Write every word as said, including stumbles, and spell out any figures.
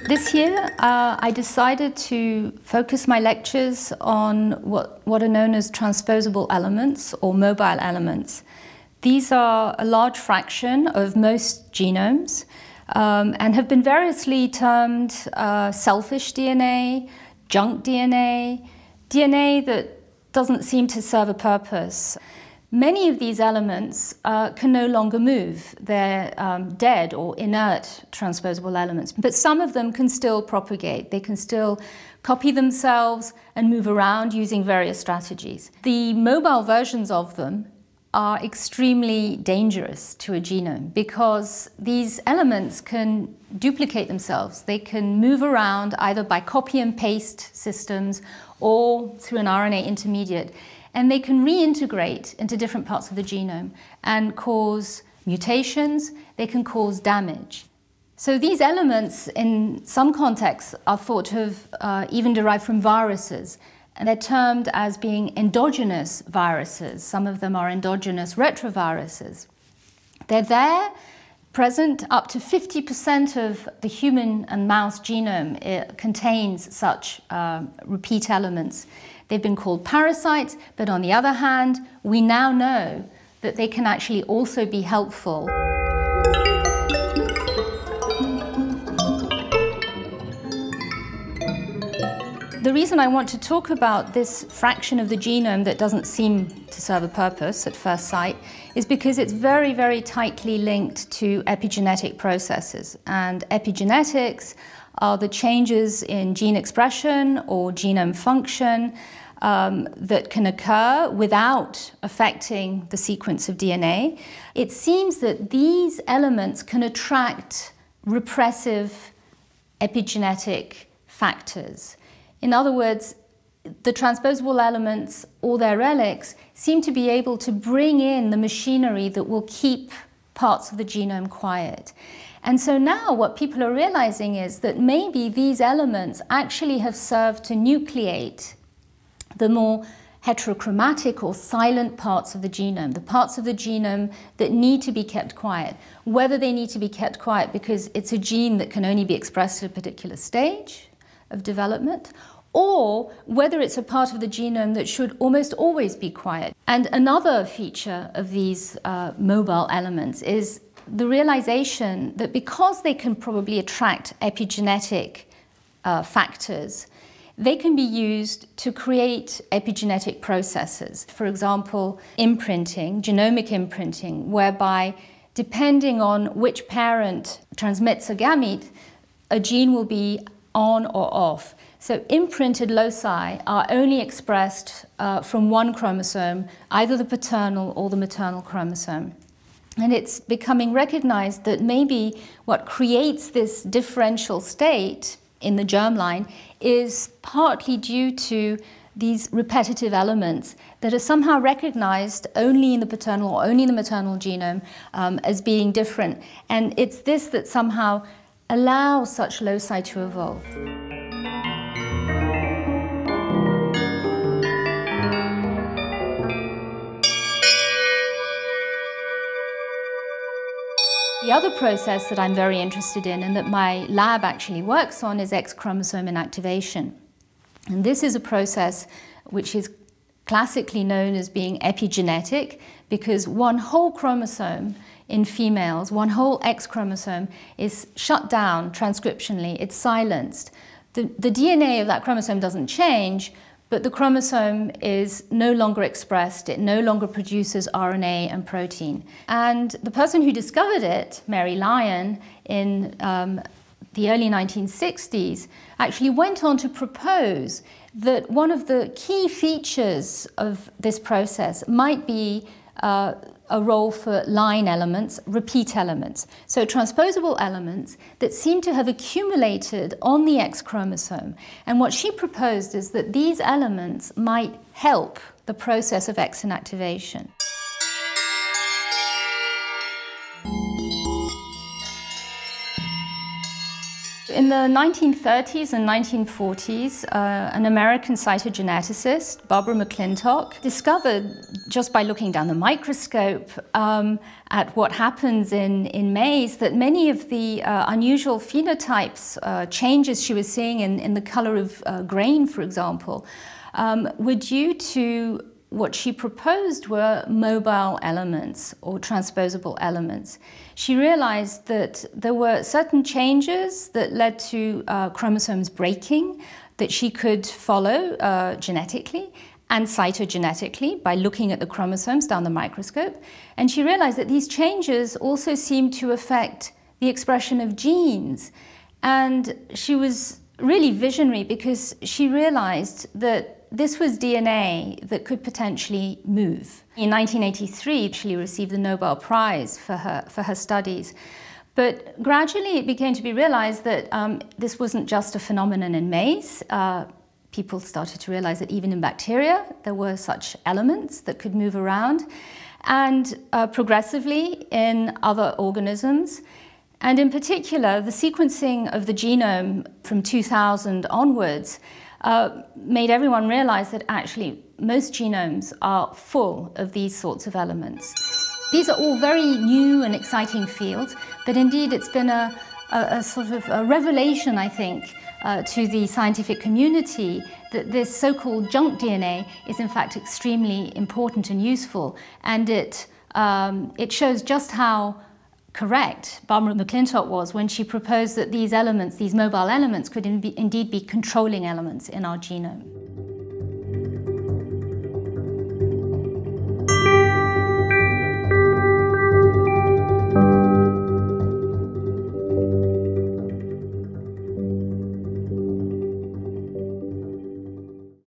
This year, uh, I decided to focus my lectures on what, what are known as transposable elements or mobile elements. These are a large fraction of most genomes um, and have been variously termed uh, selfish D N A, junk D N A, D N A that doesn't seem to serve a purpose. Many of these elements uh, can no longer move. They're um, dead or inert transposable elements, but some of them can still propagate. They can still copy themselves and move around using various strategies. The mobile versions of them are extremely dangerous to a genome because these elements can duplicate themselves. They can move around either by copy and paste systems or through an R N A intermediate. And they can reintegrate into different parts of the genome and cause mutations. They can cause damage. So these elements, in some contexts, are thought to have uh, even derived from viruses. And they're termed as being endogenous viruses. Some of them are endogenous retroviruses. They're there, present. Up to fifty percent of the human and mouse genome it contains such uh, repeat elements. They've been called parasites, but on the other hand, we now know that they can actually also be helpful. The reason I want to talk about this fraction of the genome that doesn't seem to serve a purpose at first sight is because it's very, very tightly linked to epigenetic processes. And epigenetics are the changes in gene expression or genome function um, that can occur without affecting the sequence of D N A. It seems that these elements can attract repressive epigenetic factors. In other words, the transposable elements or their relics seem to be able to bring in the machinery that will keep parts of the genome quiet. And so now what people are realizing is that maybe these elements actually have served to nucleate the more heterochromatic or silent parts of the genome, the parts of the genome that need to be kept quiet. Whether they need to be kept quiet because it's a gene that can only be expressed at a particular stage of development, or whether it's a part of the genome that should almost always be quiet. And another feature of these uh, mobile elements is the realization that because they can probably attract epigenetic uh, factors, they can be used to create epigenetic processes. For example, imprinting, genomic imprinting, whereby depending on which parent transmits a gamete, a gene will be on or off. So imprinted loci are only expressed uh, from one chromosome, either the paternal or the maternal chromosome. And it's becoming recognized that maybe what creates this differential state in the germline is partly due to these repetitive elements that are somehow recognized only in the paternal or only in the maternal genome um, as being different. And it's this that somehow allows such loci to evolve. The other process that I'm very interested in and that my lab actually works on is X chromosome inactivation. And this is a process which is classically known as being epigenetic because one whole chromosome in females, one whole X chromosome is shut down transcriptionally, it's silenced. The, the D N A of that chromosome doesn't change, but the chromosome is no longer expressed, it no longer produces R N A and protein. And the person who discovered it, Mary Lyon, in um, the early nineteen sixties, actually went on to propose that one of the key features of this process might be uh, a role for line elements, repeat elements. So transposable elements that seem to have accumulated on the X chromosome. And what she proposed is that these elements might help the process of X inactivation. in the nineteen thirties and nineteen forties, uh, an American cytogeneticist, Barbara McClintock, discovered, just by looking down the microscope um, at what happens in, in maize, that many of the uh, unusual phenotypes, uh, changes she was seeing in, in the color of uh, grain, for example, um, were due to what she proposed were mobile elements or transposable elements. She realized that there were certain changes that led to uh, chromosomes breaking that she could follow uh, genetically and cytogenetically by looking at the chromosomes down the microscope. And she realized that these changes also seemed to affect the expression of genes. And she was really visionary because she realized that this was D N A that could potentially move. In nineteen eighty-three, she received the Nobel Prize for her, for her studies. But gradually it became to be realized that um, this wasn't just a phenomenon in maize. Uh, people started to realize that even in bacteria, there were such elements that could move around. And uh, progressively in other organisms. And in particular, the sequencing of the genome from two thousand onwards Uh, made everyone realize that actually most genomes are full of these sorts of elements. These are all very new and exciting fields, but indeed it's been a, a, a sort of a revelation, I think, uh, to the scientific community that this so-called junk D N A is in fact extremely important and useful, and it, um, it shows just how correct Barbara McClintock was when she proposed that these elements, these mobile elements, could in be, indeed be controlling elements in our genome.